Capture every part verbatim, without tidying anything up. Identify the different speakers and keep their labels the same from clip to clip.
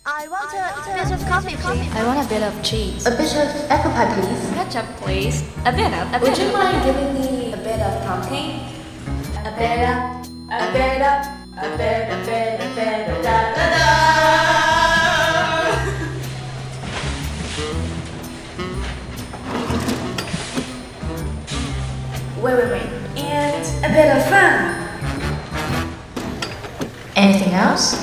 Speaker 1: I want a, a bit of coffee, please.
Speaker 2: I want a bit of cheese.
Speaker 1: A bit of apple pie, please.
Speaker 2: Ketchup, please. A bit of. A
Speaker 1: Would
Speaker 2: bit
Speaker 1: you
Speaker 2: of.
Speaker 1: mind giving me a bit of pumpkin? A bit of, a bit of, a bit, a bit, a bit, a da da da. Wait, wait, wait. And a bit of fun. Anything else?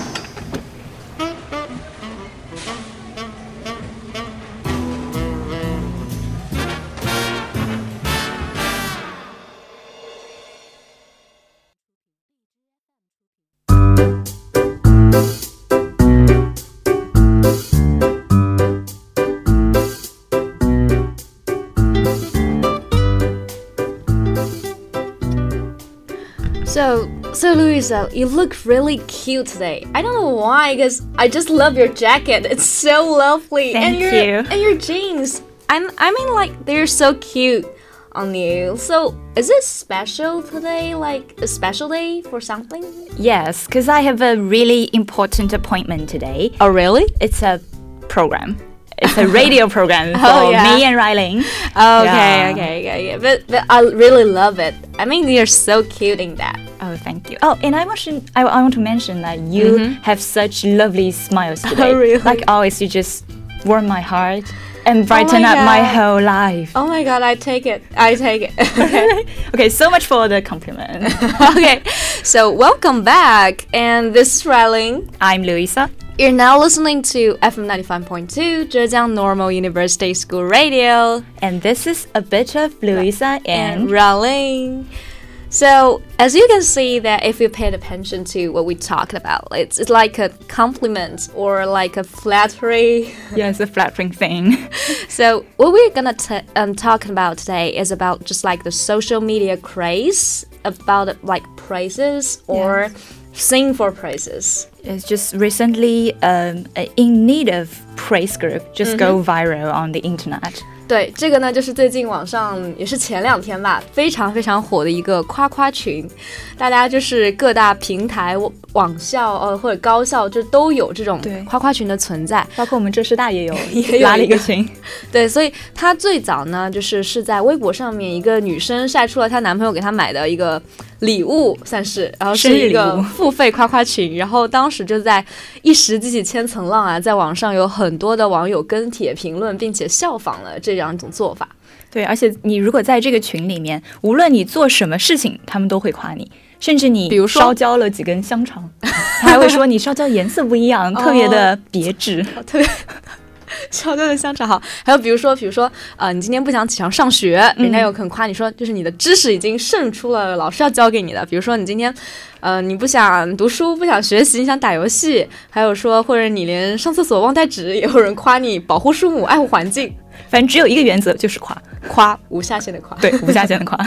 Speaker 2: So, so Louisa, you look really cute today. I don't know why, because I just love your jacket. It's so lovely.
Speaker 3: Thank
Speaker 2: and your,
Speaker 3: you.
Speaker 2: And your jeans. I'm, I mean, like, they're so cute on you. So, is it special today? Like, a special day for something?
Speaker 3: Yes, because I have a really important appointment today.
Speaker 2: Oh, really?
Speaker 3: It's a program. It's a radio program for
Speaker 2: Oh, yeah.
Speaker 3: me and Ryling.
Speaker 2: Okay,
Speaker 3: Yeah.
Speaker 2: okay, okay, okay. But, but I really love it. I mean, you're so cute in that.
Speaker 3: Oh, thank you. Oh, and I want to, I, I want to mention that you have such lovely smiles today.
Speaker 2: Oh, really?
Speaker 3: Like always, you just warm my heart and brighten
Speaker 2: my
Speaker 3: up my
Speaker 2: God.
Speaker 3: whole life.
Speaker 2: Oh my god, I take it. I take it. Okay.
Speaker 3: Okay, so much for the compliment.
Speaker 2: Okay, so welcome back. And this is Ryling.
Speaker 3: I'm Louisa.
Speaker 2: You're now listening to F M ninety-five point two, Zhejiang Normal University School Radio.
Speaker 3: And this is a bit of Louisa and,
Speaker 2: And Ryling. So, as you can see that if you paid attention to what we talked about, it's, it's like a compliment or like a flattery.
Speaker 3: yes, a flattering thing.
Speaker 2: So, what we're gonna t- um, talk about today is about just like the social media craze, about like praises or sing for praises.
Speaker 3: It's just recently um, a in need of praise group just go viral on the internet.
Speaker 2: 对，这个呢就是最近网上也是前两天吧，非常非常火的一个夸夸群，大家就是各大平台、网校呃或者高校就都有这种
Speaker 3: 对
Speaker 2: 夸夸群的存在。
Speaker 3: 包括我们浙师大也有
Speaker 2: 也有
Speaker 3: 拉了一
Speaker 2: 一个
Speaker 3: 个群。
Speaker 2: 对，所以她最早呢就是是在微博上面一个女生晒出了她男朋友给她买的一个礼物，算是，然后是一个
Speaker 3: 生日礼物
Speaker 2: 付费夸夸群，然后当时就在一时激起千层浪啊，在网上有很多的网友跟帖评论，并且效仿了这样一种做法。
Speaker 3: 对，而且你如果在这个群里面，无论你做什么事情，他们都会夸你，甚至你
Speaker 2: 比如说
Speaker 3: 烧焦了几根香肠，他还会说你烧焦颜色不一样，特别的别致。
Speaker 2: 特别烧焦的香肠好，还有比如说，比如说，呃，你今天不想起床上学，人家有可能夸你说，就是你的知识已经胜出了老师要教给你的。比如说，你今天，呃，你不想读书，不想学习，你想打游戏，还有说，或者你连上厕所忘带纸，也有人夸你保护树木、爱护环境，
Speaker 3: 反正只有一个原则，就是夸，
Speaker 2: 夸无下限的夸。
Speaker 3: 对，无下限的夸。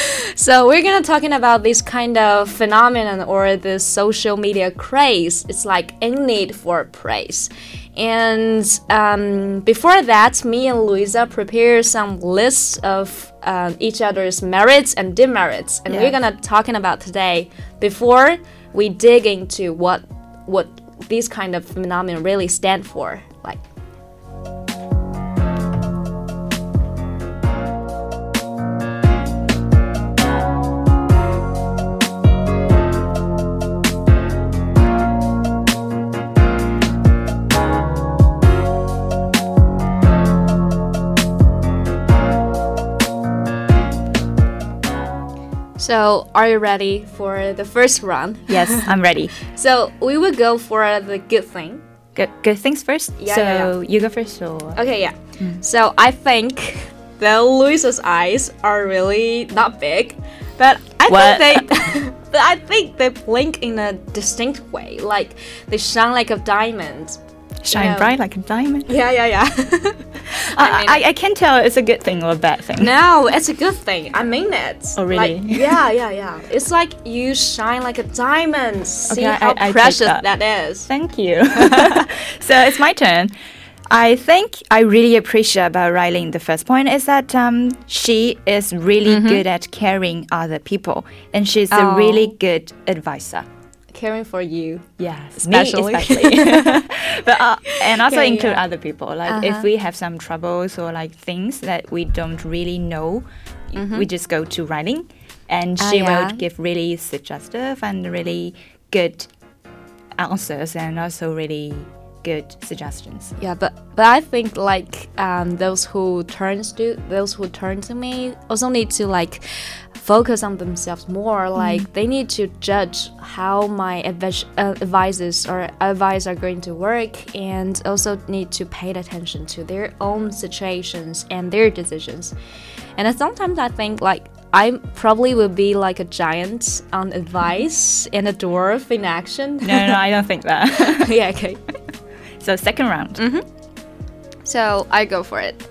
Speaker 2: So we're gonna talking about this kind of phenomenon or the social media craze. It's like in need for praise. And um, before that, me and Louisa prepare some lists of um, each other's merits and demerits, and
Speaker 3: Yeah.
Speaker 2: we're gonna talking about today. Before we dig into what what these kind of phenomena really stand for, like. So, are you ready for the first round?
Speaker 3: Yes, I'm ready.
Speaker 2: So, we will go for the good thing.
Speaker 3: Good, good things first.
Speaker 2: Yeah,
Speaker 3: so
Speaker 2: yeah,
Speaker 3: you go first, or
Speaker 2: Okay, yeah. So, I think that Louisa's eyes are really not big, but I
Speaker 3: What?
Speaker 2: think they but I think they blink in a distinct way. Like they shine like a diamond.
Speaker 3: shine
Speaker 2: Yeah.
Speaker 3: bright like a diamond.
Speaker 2: Yeah, yeah, yeah.
Speaker 3: I,
Speaker 2: mean-
Speaker 3: I, I can't tell it's a good thing or a bad thing.
Speaker 2: No, it's a good thing. I mean it.
Speaker 3: Oh, really?
Speaker 2: Like, yeah, yeah, yeah. It's like you shine like a diamond. See
Speaker 3: Okay, I-
Speaker 2: how
Speaker 3: I take
Speaker 2: precious
Speaker 3: that.
Speaker 2: that is.
Speaker 3: Thank you. So it's my turn. I think I really appreciate about Riley. The first point is that um, she is really good at caring other people, and she's
Speaker 2: Oh.
Speaker 3: a really good advisor.
Speaker 2: caring for you.
Speaker 3: Yes,
Speaker 2: Especially.
Speaker 3: me especially. but uh, and also
Speaker 2: Okay,
Speaker 3: include
Speaker 2: yeah.
Speaker 3: other people. Like
Speaker 2: Uh-huh.
Speaker 3: if we have some troubles or like things that we don't really know, we just go to Riley, and
Speaker 2: Ah,
Speaker 3: she
Speaker 2: yeah.
Speaker 3: will give really suggestive and really good answers, and also really good suggestions.
Speaker 2: Yeah, but but I think like um, those who turns to those who turn to me also need to like focus on themselves more. Like they need to judge how my advice, uh, advices or advice are going to work, and also need to pay attention to their own situations and their decisions. And sometimes I think like I probably would be like a giant on advice and a dwarf in action.
Speaker 3: No, no, no, I don't think that.
Speaker 2: Yeah, okay.
Speaker 3: So second round.
Speaker 2: So I go for it.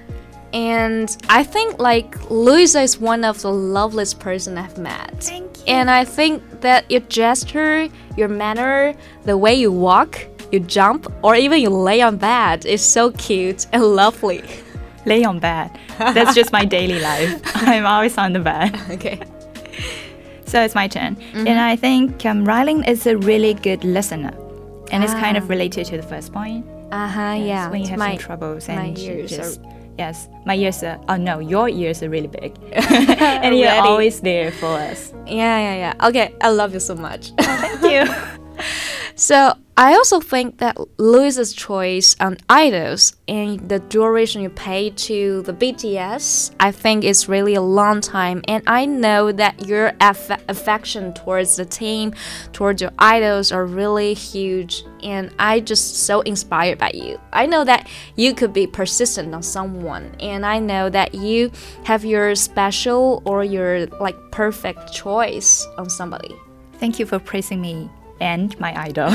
Speaker 2: And I think like Louisa is one of the loveliest person I've met.
Speaker 3: Thank you.
Speaker 2: And I think that your gesture, your manner, the way you walk, you jump, or even you lay on bed is so cute and lovely.
Speaker 3: Lay on bed. That's just my daily life. I'm always on the bed.
Speaker 2: Okay.
Speaker 3: So it's my turn. And I think um, Riley is a really good listener. And it's kind of related to the first point.
Speaker 2: Uh-huh,
Speaker 3: Yes,
Speaker 2: yeah.
Speaker 3: when you have
Speaker 2: my,
Speaker 3: some troubles
Speaker 2: my
Speaker 3: and you
Speaker 2: ears
Speaker 3: just
Speaker 2: are...
Speaker 3: yes, my ears are oh no, your ears are really big. And you're
Speaker 2: Ready.
Speaker 3: always there for us.
Speaker 2: Yeah, yeah, yeah. Okay, I love you so much.
Speaker 3: Thank you.
Speaker 2: So I also think that Louisa's choice on idols and the duration you pay to the B T S, I think is really a long time. And I know that your aff affection towards the team, towards your idols are really huge. And I just so inspired by you. I know that you could be persistent on someone. And I know that you have your special or your like perfect choice on somebody.
Speaker 3: Thank you for praising me and my idol.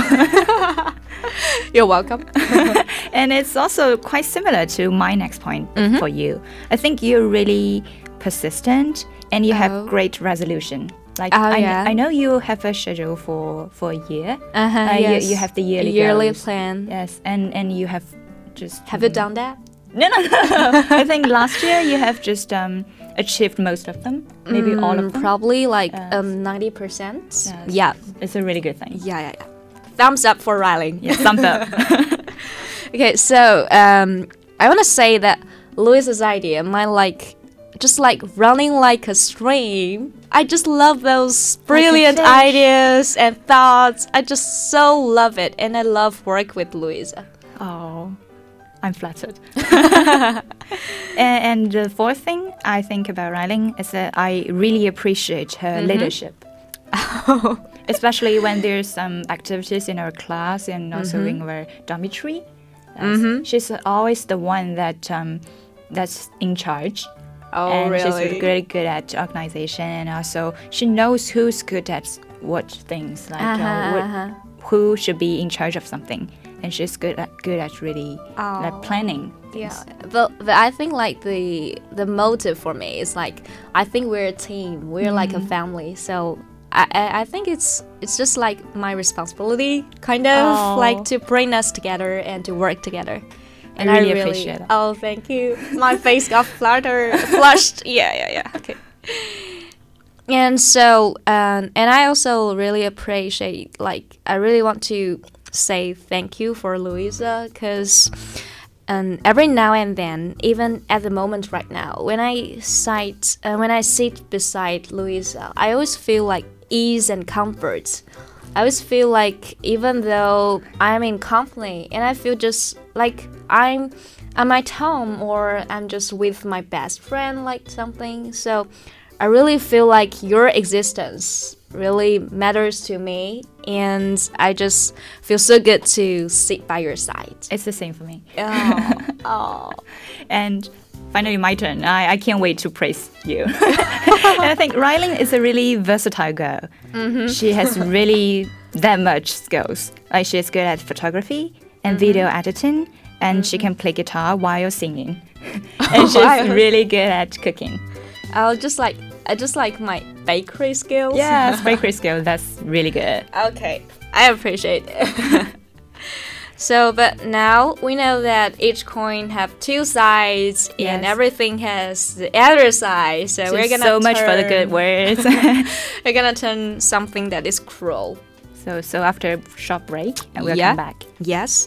Speaker 2: You're welcome.
Speaker 3: And it's also quite similar to my next point for you. I think you're really persistent and you
Speaker 2: Oh.
Speaker 3: have great resolution. Like
Speaker 2: Oh,
Speaker 3: I, kn-
Speaker 2: yeah.
Speaker 3: I know you have a schedule for for a year.
Speaker 2: Uh-huh,
Speaker 3: Uh, you-
Speaker 2: yes.
Speaker 3: you have the yearly
Speaker 2: yearly
Speaker 3: goals.
Speaker 2: plan.
Speaker 3: Yes, and and you have just
Speaker 2: Have you done that?
Speaker 3: No, no, no. I think last year you have just um, achieved most of them, maybe all of them.
Speaker 2: Probably like
Speaker 3: Yes.
Speaker 2: um ninety percent.
Speaker 3: Yes.
Speaker 2: Yeah.
Speaker 3: It's a really good thing.
Speaker 2: Yeah, yeah, yeah. Thumbs up for Riley.
Speaker 3: Yeah, thumbs up.
Speaker 2: Okay, so um I want to say that Louisa's idea, my like just like running like a stream. I just love those brilliant
Speaker 3: fish.
Speaker 2: ideas and thoughts. I just so love it, and I love work with Louisa.
Speaker 3: Oh, I'm flattered. and, and the fourth thing I think about Riley is that I really appreciate her leadership. Especially when there's some activities in our class and also in our dormitory. Yes. She's always the one that um, that's in charge.
Speaker 2: Oh,
Speaker 3: and
Speaker 2: really?
Speaker 3: she's really good at organization, and also she knows who's good at what things, like uh,
Speaker 2: Uh-huh,
Speaker 3: what,
Speaker 2: uh-huh.
Speaker 3: who should be in charge of something, and she's good at good at really
Speaker 2: Oh.
Speaker 3: like planning things.
Speaker 2: Yeah, but, but I think like the the motive for me is like I think we're a team, we're like a family, so I, I I think it's it's just like my responsibility, kind of
Speaker 3: Oh.
Speaker 2: like to bring us together and to work together.
Speaker 3: I really appreciate it.
Speaker 2: Oh, thank you. My face got fluttered, flushed. Yeah, yeah, yeah. Okay. And so, um, and I also really appreciate, like, I really want to say thank you for Louisa, because um, every now and then, even at the moment right now, when I sit, uh, when I sit beside Louisa, I always feel like ease and comfort. I always feel like even though I'm in company, and I feel just like I'm I'm at home or I'm just with my best friend, like something. So I really feel like your existence really matters to me, and I just feel so good to sit by your side.
Speaker 3: It's the same for me.
Speaker 2: Oh, oh.
Speaker 3: And finally, my turn. I, I can't wait to praise you. And I think Riley is a really versatile girl. She has really that much skills. Like she's good at photography and video editing, and she can play guitar while singing. And she's
Speaker 2: Wow.
Speaker 3: really good at cooking.
Speaker 2: I'll just like I just like my bakery skills.
Speaker 3: Yes, bakery skill. That's really good.
Speaker 2: Okay, I appreciate it. So, but now we know that each coin have two sides, and
Speaker 3: Yes.
Speaker 2: everything has the other side. So we're
Speaker 3: Just
Speaker 2: gonna
Speaker 3: so much for the
Speaker 2: turn-
Speaker 3: good words.
Speaker 2: We're gonna turn something that is cruel.
Speaker 3: So, so after a short break, and we'll
Speaker 2: Yeah.
Speaker 3: come back.
Speaker 2: Yes.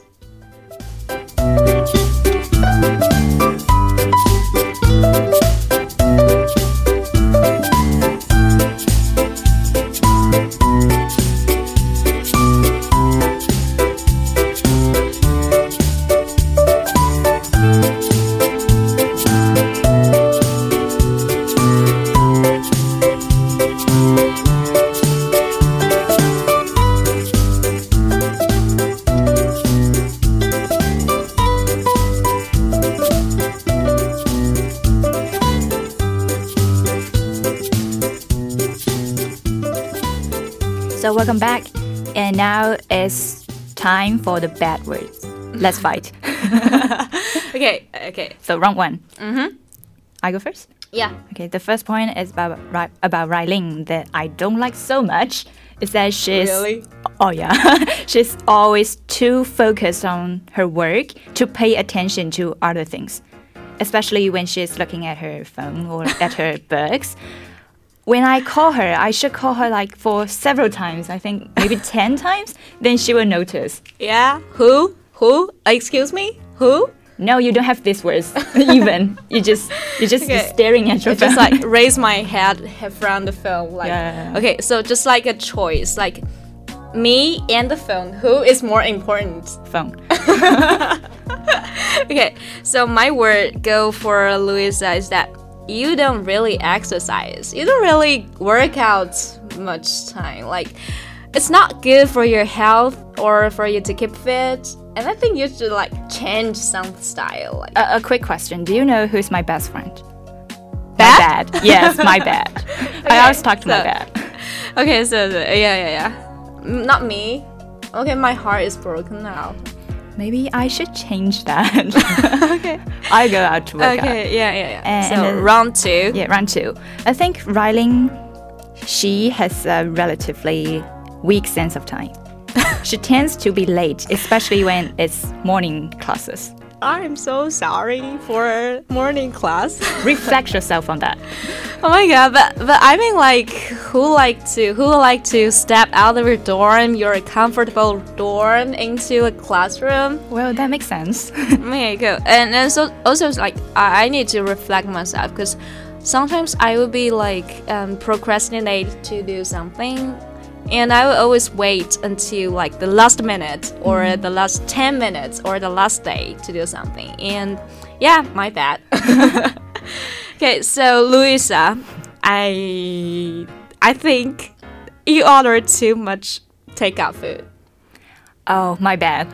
Speaker 3: So welcome back, and now it's time for the bad words. Let's fight.
Speaker 2: Okay, okay.
Speaker 3: So round one. Mm-hmm. I go first.
Speaker 2: Yeah.
Speaker 3: Okay, the first point is about Ri- about Riley that I don't like so much is that she's
Speaker 2: Really?
Speaker 3: oh yeah she's always too focused on her work to pay attention to other things, especially when she's looking at her phone or at her books. When I call her, I should call her like for several times. I think maybe ten times. Then she will notice.
Speaker 2: Yeah. Who? Who? Excuse me? Who?
Speaker 3: No, you don't have these words. Even you just you're just
Speaker 2: Okay.
Speaker 3: staring at your
Speaker 2: I
Speaker 3: phone.
Speaker 2: just like raise my head from the phone. Like,
Speaker 3: Yeah.
Speaker 2: okay, so just like a choice, like me and the phone, who is more important?
Speaker 3: phone.
Speaker 2: Okay, so my word go for Louisa is that you don't really exercise. You don't really work out much time. Like, it's not good for your health or for you to keep fit. And I think you should like change some style. Like,
Speaker 3: A, a quick question: do you know who's my best friend?
Speaker 2: Bad?
Speaker 3: My bad. Yes, my bad. I always talk to my
Speaker 2: so-
Speaker 3: bad.
Speaker 2: okay, so, so yeah, yeah, yeah. Mm, Not me. Okay, my heart is broken now.
Speaker 3: Maybe I should change that. Okay. I go out to work out.
Speaker 2: Okay, yeah, yeah, yeah.
Speaker 3: And-
Speaker 2: so
Speaker 3: and then-
Speaker 2: round two.
Speaker 3: Yeah, round two. I think Riley, she has a relatively weak sense of time. She tends to be late, especially when it's morning classes.
Speaker 2: I'm so sorry for morning class.
Speaker 3: Reflect yourself on that.
Speaker 2: Oh my god, but but I mean like who like to who like to step out of your dorm, your comfortable dorm into a classroom?
Speaker 3: Well, that makes sense.
Speaker 2: Okay, go. And and so also like I, I need to reflect myself because sometimes I would be like um, procrastinate to do something. And I will always wait until like the last minute or
Speaker 3: Mm-hmm.
Speaker 2: the last ten minutes or the last day to do something. And yeah, my bad. Okay, so Louisa, I I think you ordered too much takeout food.
Speaker 3: Oh, my bad.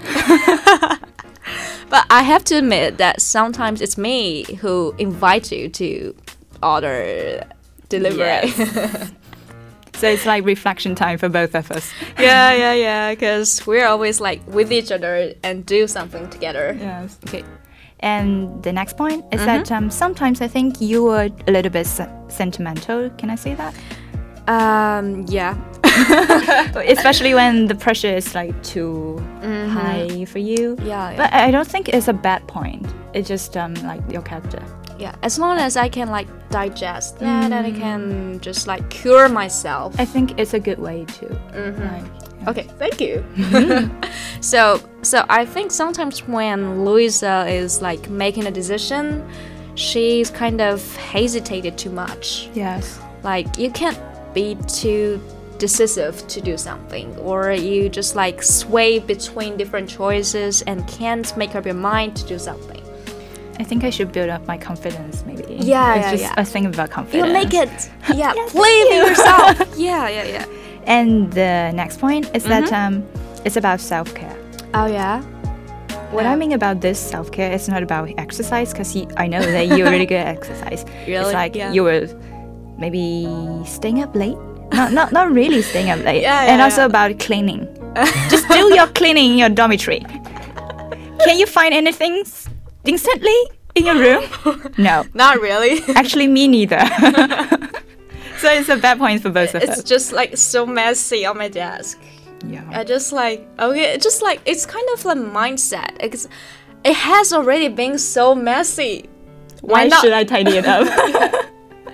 Speaker 2: But I have to admit that sometimes it's me who invite you to order delivery.
Speaker 3: Yes. So it's like reflection time for both of us.
Speaker 2: yeah, yeah, yeah. Because we're always like with each other and do something together.
Speaker 3: Yes. Okay. And the next point is that um, sometimes I think you are a little bit se- sentimental. Can I say that?
Speaker 2: Um, yeah.
Speaker 3: Especially when the pressure is like too high for you.
Speaker 2: Yeah, yeah.
Speaker 3: But I don't think it's a bad point. It's just um, like your character.
Speaker 2: Yeah, as long as I can like digest that and I can just like cure myself.
Speaker 3: I think it's a good way to. Like,
Speaker 2: Okay, thank you. so, so I think sometimes when Louisa is like making a decision, she's kind of hesitated too much.
Speaker 3: yes.
Speaker 2: Like you can't be too decisive to do something, or you just like sway between different choices and can't make up your mind to do something.
Speaker 3: I think I should build up my confidence, maybe.
Speaker 2: Yeah,
Speaker 3: it's
Speaker 2: yeah,
Speaker 3: just
Speaker 2: yeah.
Speaker 3: a thing about confidence.
Speaker 2: You make it, yeah, believe in yourself. Yeah, yeah, yeah.
Speaker 3: And the next point is that um, it's about self-care.
Speaker 2: Oh yeah.
Speaker 3: What I mean about this self-care is not about exercise, because I know that you're really good at exercise.
Speaker 2: Really?
Speaker 3: It's like
Speaker 2: Yeah.
Speaker 3: you were maybe staying up late. Not, not, not really staying up late.
Speaker 2: Yeah,
Speaker 3: and
Speaker 2: yeah,
Speaker 3: also
Speaker 2: yeah.
Speaker 3: about cleaning. Just do your cleaning in your dormitory. Can you find anything s- instantly in your room? No.
Speaker 2: Not really.
Speaker 3: Actually, me neither. So it's a bad point for both of
Speaker 2: It's
Speaker 3: us.
Speaker 2: just like so messy on my desk.
Speaker 3: Yeah.
Speaker 2: I just like okay, it's just like it's kind of like mindset. It's, it has already been so messy.
Speaker 3: Why
Speaker 2: not-
Speaker 3: should I tidy it up?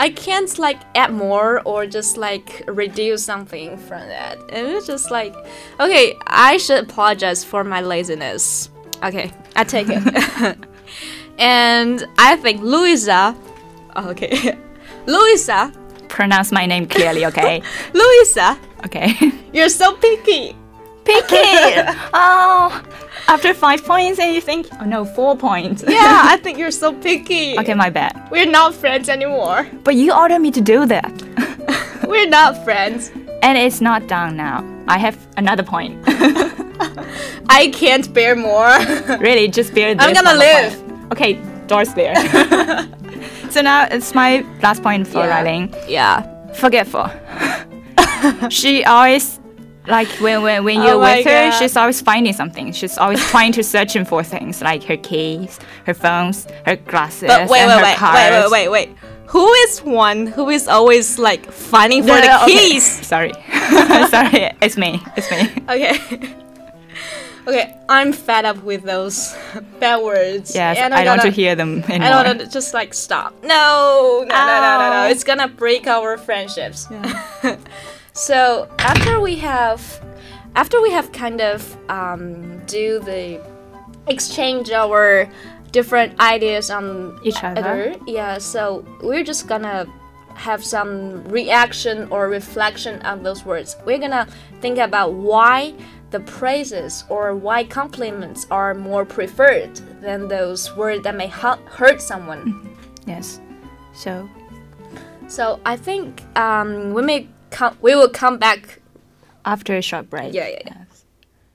Speaker 2: I can't like add more or just like reduce something from that. And it's just like, okay, I should apologize for my laziness. Okay, I take it. And I think Louisa, okay, Louisa,
Speaker 3: Pronounce my name clearly, okay?
Speaker 2: Louisa,
Speaker 3: Okay.
Speaker 2: you're so picky.
Speaker 3: Picky! Oh, after five points and you think, oh no, four points.
Speaker 2: Yeah, I think you're so picky.
Speaker 3: Okay, my bad.
Speaker 2: We're not friends anymore.
Speaker 3: But you ordered me to do that.
Speaker 2: We're not friends.
Speaker 3: And it's not done now. I have another point.
Speaker 2: I can't bear more.
Speaker 3: Really, just bear this.
Speaker 2: I'm gonna
Speaker 3: one
Speaker 2: live.
Speaker 3: point. Okay, door's there. So now it's my last point for
Speaker 2: Yeah.
Speaker 3: Riley.
Speaker 2: Yeah.
Speaker 3: Forgetful. She always, like when when, when you're
Speaker 2: Oh my
Speaker 3: with her,
Speaker 2: God.
Speaker 3: she's always finding something. She's always trying to searching for things like her keys, her phones, her glasses,
Speaker 2: But wait,
Speaker 3: and
Speaker 2: wait,
Speaker 3: her
Speaker 2: wait,
Speaker 3: cards.
Speaker 2: wait, wait, wait, wait. Who is one who is always like finding for
Speaker 3: No,
Speaker 2: the
Speaker 3: no, okay.
Speaker 2: keys?
Speaker 3: Sorry, sorry, it's me, it's me.
Speaker 2: Okay. Okay, I'm fed up with those bad words.
Speaker 3: Yes,
Speaker 2: And
Speaker 3: I
Speaker 2: I'm
Speaker 3: don't want to
Speaker 2: gonna-
Speaker 3: hear them anymore.
Speaker 2: I don't want to just like stop. No, no, no, no, no, no.
Speaker 3: Ow.
Speaker 2: It's gonna break our friendships. So after we have, after we have kind of um, do the exchange our different ideas on
Speaker 3: Each other.
Speaker 2: yeah. So we're just gonna have some reaction or reflection on those words. We're gonna think about why the praises or why compliments are more preferred than those words that may hu- hurt someone.
Speaker 3: Yes. So
Speaker 2: So I think um, we may come. We will come back.
Speaker 3: after a short break.
Speaker 2: Yeah, yeah, yeah.
Speaker 3: Yes.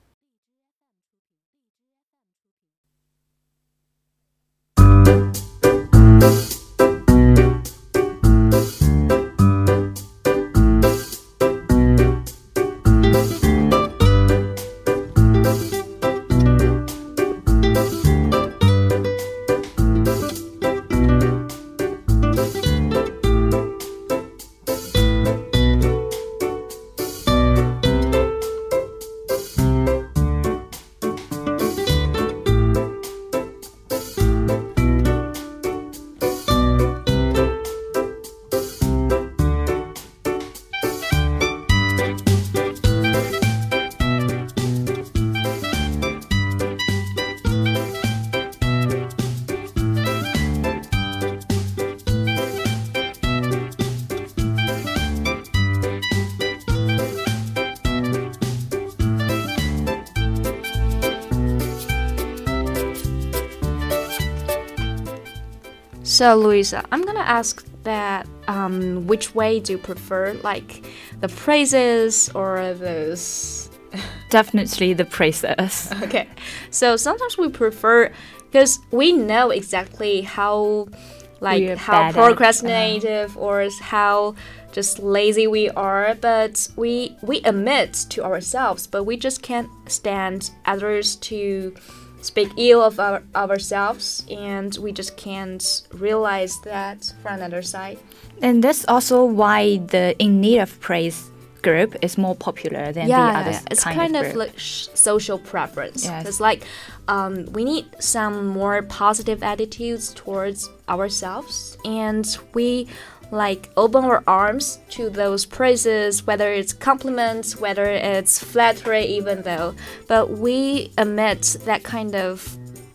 Speaker 2: So Louisa, I'm gonna ask that. Um, which way do you prefer, like the praises or those?
Speaker 3: Definitely the praises.
Speaker 2: Okay. So sometimes we prefer because we know exactly how like
Speaker 3: We're
Speaker 2: how
Speaker 3: bad at,
Speaker 2: procrastinative or how just lazy we are, but we we admit to ourselves, but we just can't stand others to speak ill of our, ourselves, and we just can't realize that from another side.
Speaker 3: And that's also why the in need of praise group is more popular than the other
Speaker 2: it's
Speaker 3: kind,
Speaker 2: kind
Speaker 3: of
Speaker 2: of,
Speaker 3: group.
Speaker 2: like sh- social preference.
Speaker 3: Yes.
Speaker 2: Because like um, we need some more positive attitudes towards ourselves, and we like open our arms to those praises, whether it's compliments, whether it's flattery, even though. But we admit that kind of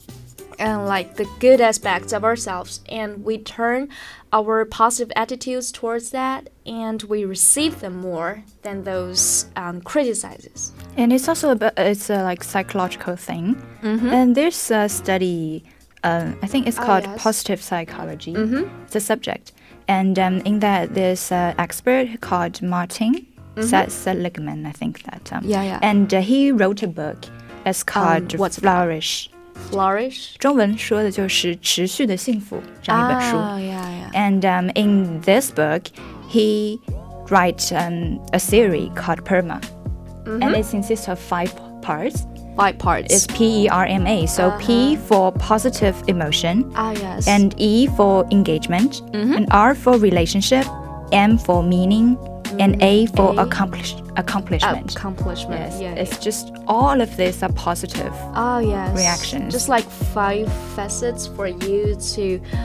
Speaker 2: and like the good aspects of ourselves, and we turn our positive attitudes towards that, and we receive them more than those um, criticizes.
Speaker 3: And it's also about, it's a like psychological thing. And there's a study, uh, I think it's
Speaker 2: Oh,
Speaker 3: called
Speaker 2: yes.
Speaker 3: positive psychology. It's a subject. And um, in that, there's an expert called Martin Seligman, I think that. Um,
Speaker 2: Yeah, yeah.
Speaker 3: And uh, he wrote a book. It's called
Speaker 2: what's it
Speaker 3: Flourish.
Speaker 2: Flourish.
Speaker 3: 中文说的就是持续的幸福这样一本书。
Speaker 2: Oh, yeah, yeah.
Speaker 3: And um, in this book, he writes um, a series called PERMA. And it consists of five parts.
Speaker 2: Five parts.
Speaker 3: It's P E R M A. So P for positive emotion,
Speaker 2: ah, yes.
Speaker 3: and E for engagement, and R for relationship, M for meaning, and A for
Speaker 2: A.
Speaker 3: accomplish accomplishment.
Speaker 2: accomplishment.
Speaker 3: Yes,
Speaker 2: Yeah.
Speaker 3: it's just all of these are positive.
Speaker 2: Oh, yes.
Speaker 3: reactions.
Speaker 2: Just like five facets for you to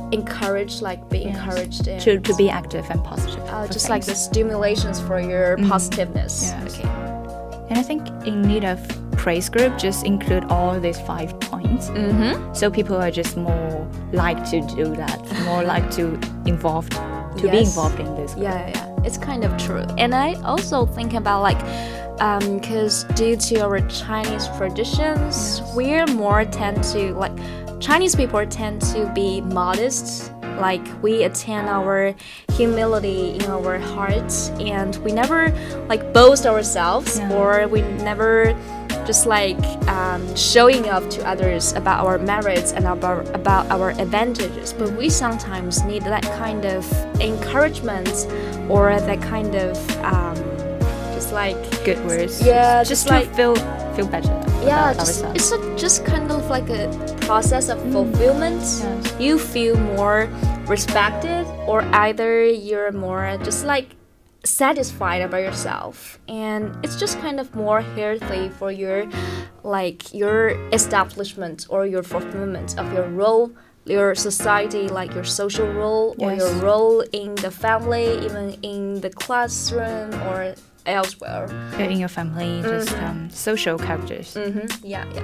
Speaker 2: encouraged, like be
Speaker 3: Yes.
Speaker 2: encouraged and,
Speaker 3: to, to be active and positive.
Speaker 2: uh,
Speaker 3: for
Speaker 2: just like the
Speaker 3: things.
Speaker 2: stimulations for your positiveness.
Speaker 3: Yes.
Speaker 2: Okay.
Speaker 3: And I think in need of praise group just include all these five points.
Speaker 2: Mm-hmm.
Speaker 3: So people are just more like to do that, more like to involved, to be
Speaker 2: Yes.
Speaker 3: involved in this. Group.
Speaker 2: Yeah, yeah, yeah. It's kind of true. And I also think about like, because due to our Chinese traditions, we're more tend to like, Chinese people tend to be modest. Like we attain our humility in our hearts, and we never like boast ourselves,
Speaker 3: Yeah.
Speaker 2: or we never just like um, showing off to others about our merits and about about our advantages. But we sometimes need that kind of encouragement, or that kind of um, just like
Speaker 3: Good words.
Speaker 2: Yeah,
Speaker 3: just
Speaker 2: just
Speaker 3: to
Speaker 2: like-
Speaker 3: feel feel better.
Speaker 2: yeah,
Speaker 3: about
Speaker 2: just,
Speaker 3: ourselves.
Speaker 2: it's a, just kind of like a process of fulfillment.
Speaker 3: Yes.
Speaker 2: You feel more respected, or either you're more just like satisfied about yourself, and it's just kind of more healthy for your like your establishment or your fulfillment of your role, your society, like your social role, or
Speaker 3: Yes.
Speaker 2: your role in the family, even in the classroom or elsewhere.
Speaker 3: in your family, just um, social characters.
Speaker 2: Mm-hmm. Yeah, yeah.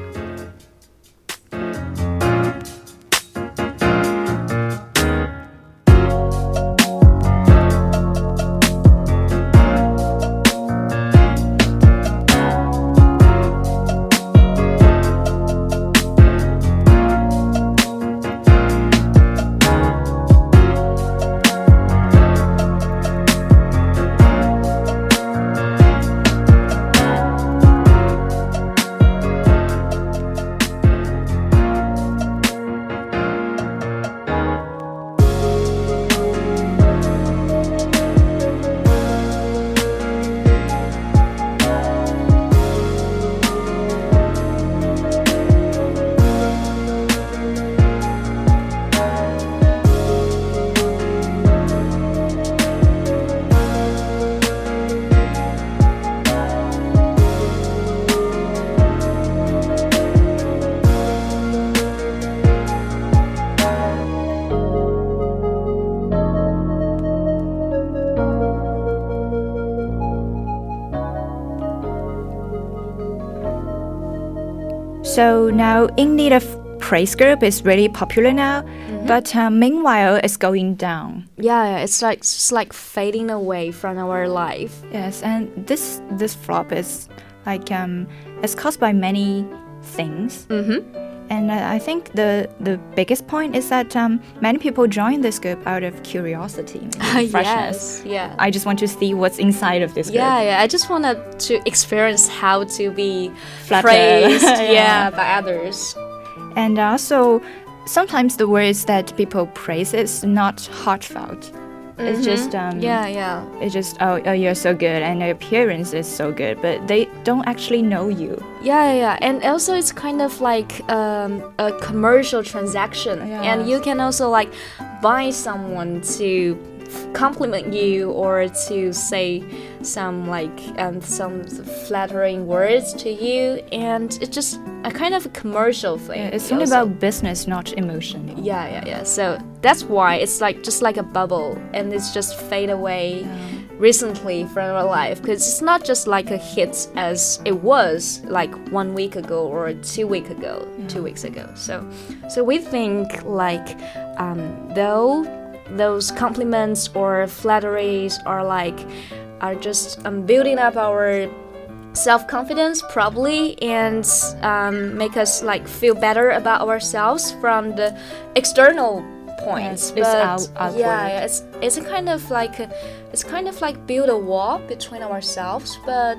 Speaker 3: So now, in need of praise group is really popular now, but uh, meanwhile, it's going down.
Speaker 2: Yeah, yeah, it's like it's just like fading away from our life.
Speaker 3: Yes, and this this flop is like um, it's caused by many things.
Speaker 2: Mm-hmm.
Speaker 3: And uh, I think the the biggest point is that um, many people join this group out of curiosity, maybe freshness.
Speaker 2: Yes, yeah.
Speaker 3: I just want to see what's inside of this group.
Speaker 2: Yeah, yeah. I just wanted to experience how to be
Speaker 3: Flattered.
Speaker 2: praised,
Speaker 3: Yeah.
Speaker 2: yeah, by others.
Speaker 3: And also, sometimes the words that people praise is not heartfelt. It's just um,
Speaker 2: Yeah, yeah.
Speaker 3: It's just oh, oh you're so good and your appearance is so good, but they don't actually know you.
Speaker 2: Yeah, yeah, yeah. And also it's kind of like um, a commercial transaction. And
Speaker 3: Yes.
Speaker 2: you can also like buy someone to compliment you, or to say some like um, some flattering words to you, and it's just a kind of a commercial thing.
Speaker 3: Yeah, it's only
Speaker 2: also.
Speaker 3: about business, not emotion.
Speaker 2: Yeah, yeah, yeah. So that's why it's like just like a bubble, and it's just fade away recently from our life, because it's not just like a hit as it was like one week ago or two week ago, two weeks ago. So, so we think like um, though those compliments or flatteries are like are just um, building up our self-confidence probably, and um, make us like feel better about ourselves from the external points.
Speaker 3: Yes, it's
Speaker 2: But
Speaker 3: out- outward.
Speaker 2: yeah, yeah, it's it's a kind of like a, it's kind of like build a wall between ourselves, but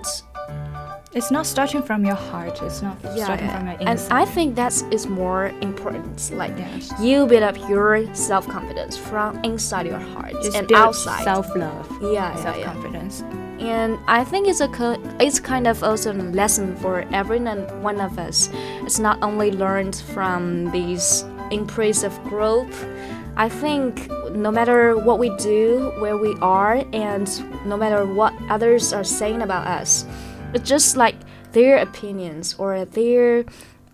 Speaker 3: It's not starting from your heart. It's not
Speaker 2: yeah,
Speaker 3: starting
Speaker 2: yeah.
Speaker 3: from your
Speaker 2: and
Speaker 3: inside.
Speaker 2: I think that is more important. Like
Speaker 3: Yes.
Speaker 2: you build up your self-confidence from inside your heart
Speaker 3: Just
Speaker 2: and
Speaker 3: build
Speaker 2: outside.
Speaker 3: self-love,
Speaker 2: Yeah, yeah, yeah.
Speaker 3: self-confidence.
Speaker 2: And I think it's a co- it's kind of also a lesson for every n- one of us. It's not only learned from these impressive group. I think no matter what we do, where we are, and no matter what others are saying about us, it's just like their opinions or their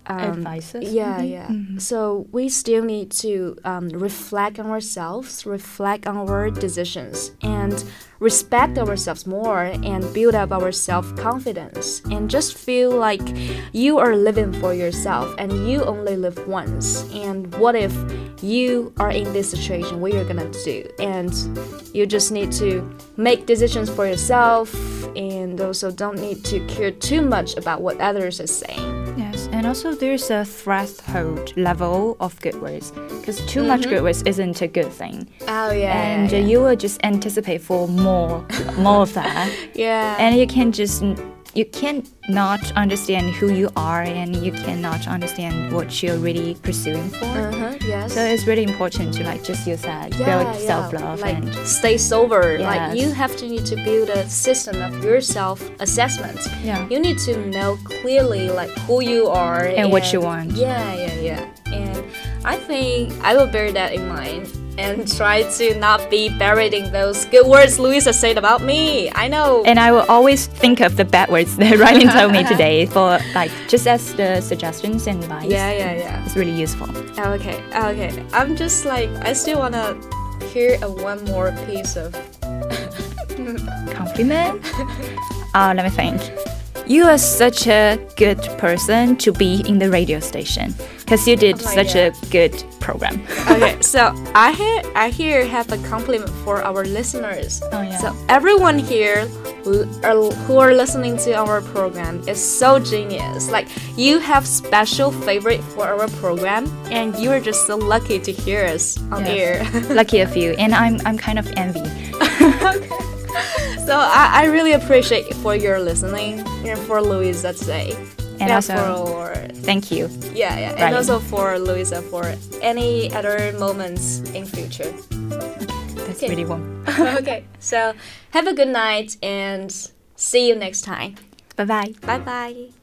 Speaker 2: um,
Speaker 3: Advices,
Speaker 2: Yeah,
Speaker 3: maybe?
Speaker 2: yeah.
Speaker 3: Mhm.
Speaker 2: So we still need to um, reflect on ourselves, reflect on our decisions, and respect ourselves more and build up our self-confidence and just feel like you are living for yourself and you only live once. And what if you are in this situation? What you're gonna do? And you just need to make decisions for yourself and also don't need to care too much about what others are saying.
Speaker 3: Yes, and also there's a threshold level of good words because too much good words isn't a good thing.
Speaker 2: Oh yeah,
Speaker 3: And
Speaker 2: yeah,
Speaker 3: uh, you will just anticipate for more, more of that.
Speaker 2: yeah.
Speaker 3: And you can just you can not understand who you are, and you cannot understand what you're really pursuing for.
Speaker 2: Uh-huh, yes.
Speaker 3: So it's really important to like just use that
Speaker 2: yeah,
Speaker 3: build
Speaker 2: yeah,
Speaker 3: self-love
Speaker 2: like
Speaker 3: and
Speaker 2: stay sober. Like
Speaker 3: Yes.
Speaker 2: you have to need to build a system of your self-assessment.
Speaker 3: yeah.
Speaker 2: You need to know clearly like who you are
Speaker 3: And what you want.
Speaker 2: Yeah, yeah, yeah. And I think I will bear that in mind and try to not be buried in those good words Louisa said about me. I know.
Speaker 3: And I will always think of the bad words that Ryan told me today for like just as the suggestions and advice.
Speaker 2: yeah, yeah, yeah.
Speaker 3: It's really useful.
Speaker 2: Okay, okay. I'm just like I still wanna hear a one more piece of
Speaker 3: Compliment? uh, let me think. You are such a good person to be in the radio station because you did
Speaker 2: Oh my
Speaker 3: such
Speaker 2: God.
Speaker 3: a good program.
Speaker 2: Okay, so I hear I here have a compliment for our listeners.
Speaker 3: Oh, yeah.
Speaker 2: So everyone here l- are- who are listening to our program is so genius. Like you have special favorite for our program, and you are just so lucky to hear us on
Speaker 3: Yes.
Speaker 2: air.
Speaker 3: Lucky of you, and I'm I'm kind of envy.
Speaker 2: So I, I really appreciate for your listening and for Louisa today.
Speaker 3: And also,
Speaker 2: for
Speaker 3: thank you.
Speaker 2: yeah, yeah, and
Speaker 3: Right.
Speaker 2: also for Louisa for any other moments in future.
Speaker 3: That's
Speaker 2: Okay.
Speaker 3: really warm.
Speaker 2: Okay, so have a good night and see you next time.
Speaker 3: Bye bye.
Speaker 2: Bye bye.